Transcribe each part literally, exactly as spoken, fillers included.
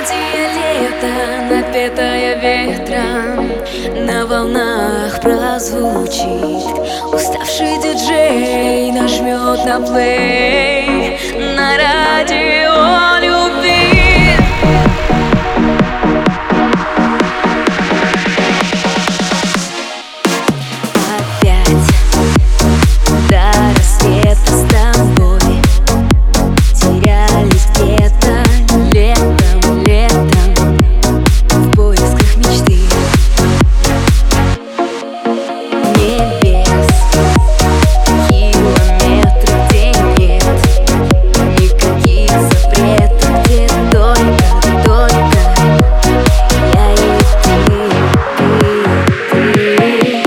Мелодия лета, напетая ветром, на волнах прозвучит. Уставший диджей нажмет на плей на радио любви. Опять до рассвета с тобой терялись где-то летом, летом в поисках мечты. Небес, километры, где нет никаких запретов, где только, только я и ты, ты, ты.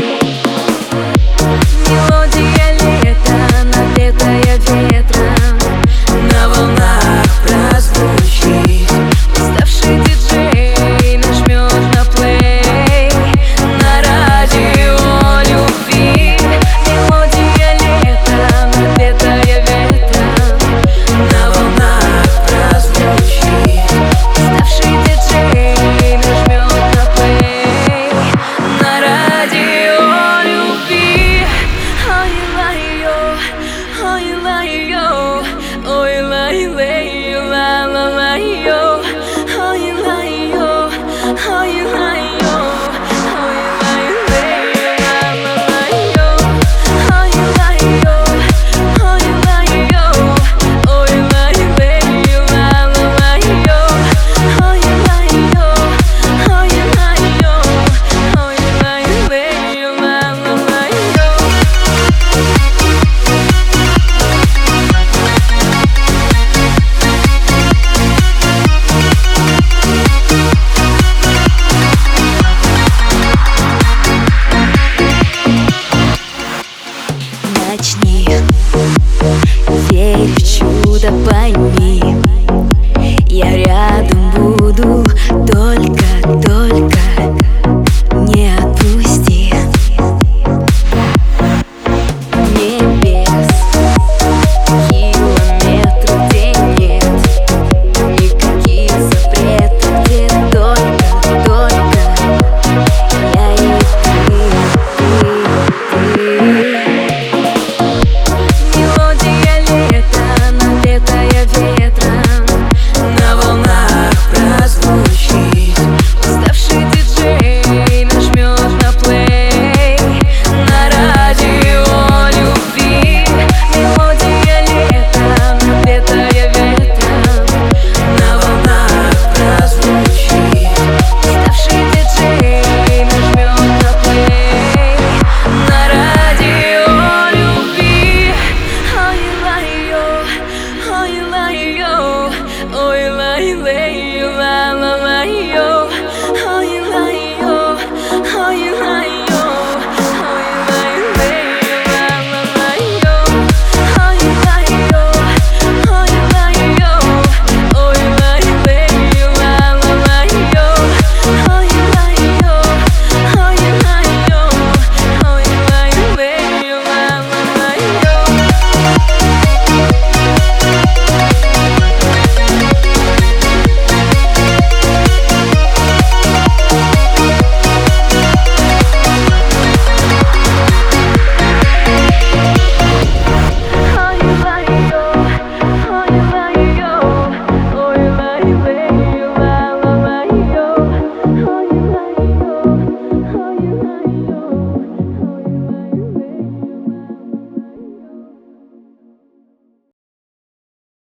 Мелодия лета, напетая ветром, на волнах прозвучит. Уставший диджей нажмет на плей на радио любви. Мелодия лета, напетая ветром, на волнах прозвучит. Уставший диджей нажмет на плей на радио любви. Ой, лай-йо, ой, лай-йо, ой, лай-лей, ла-ла-лай-йо, ой, лай-йо, ой, лай-йо, ой, лай-лей, ла-ла-лай-йо, ой, лай-йо, ой, лай-йо, ой, лай-лей, ла-ла-лай-йо, ой, лай-йо, ой, лай-йо, ой, лай-лей, ла-ла-лай-йо. Начни, верь в чудо, пойми, я рядом буду, только, только не отпусти. Небес, километры, где нет никаких запретов, где только, только я и ты, ты, ты. Мелодия лета, напетая ветром, на волнах прозвучит. Уставший диджей нажмет на плей на радио любви. Мелодия лета, напетая ветром, на волнах прозвучит. Уставший диджей нажмет на плей на радио любви. Ой, лай-йо, ой, лай-йо, ой, лай-лей.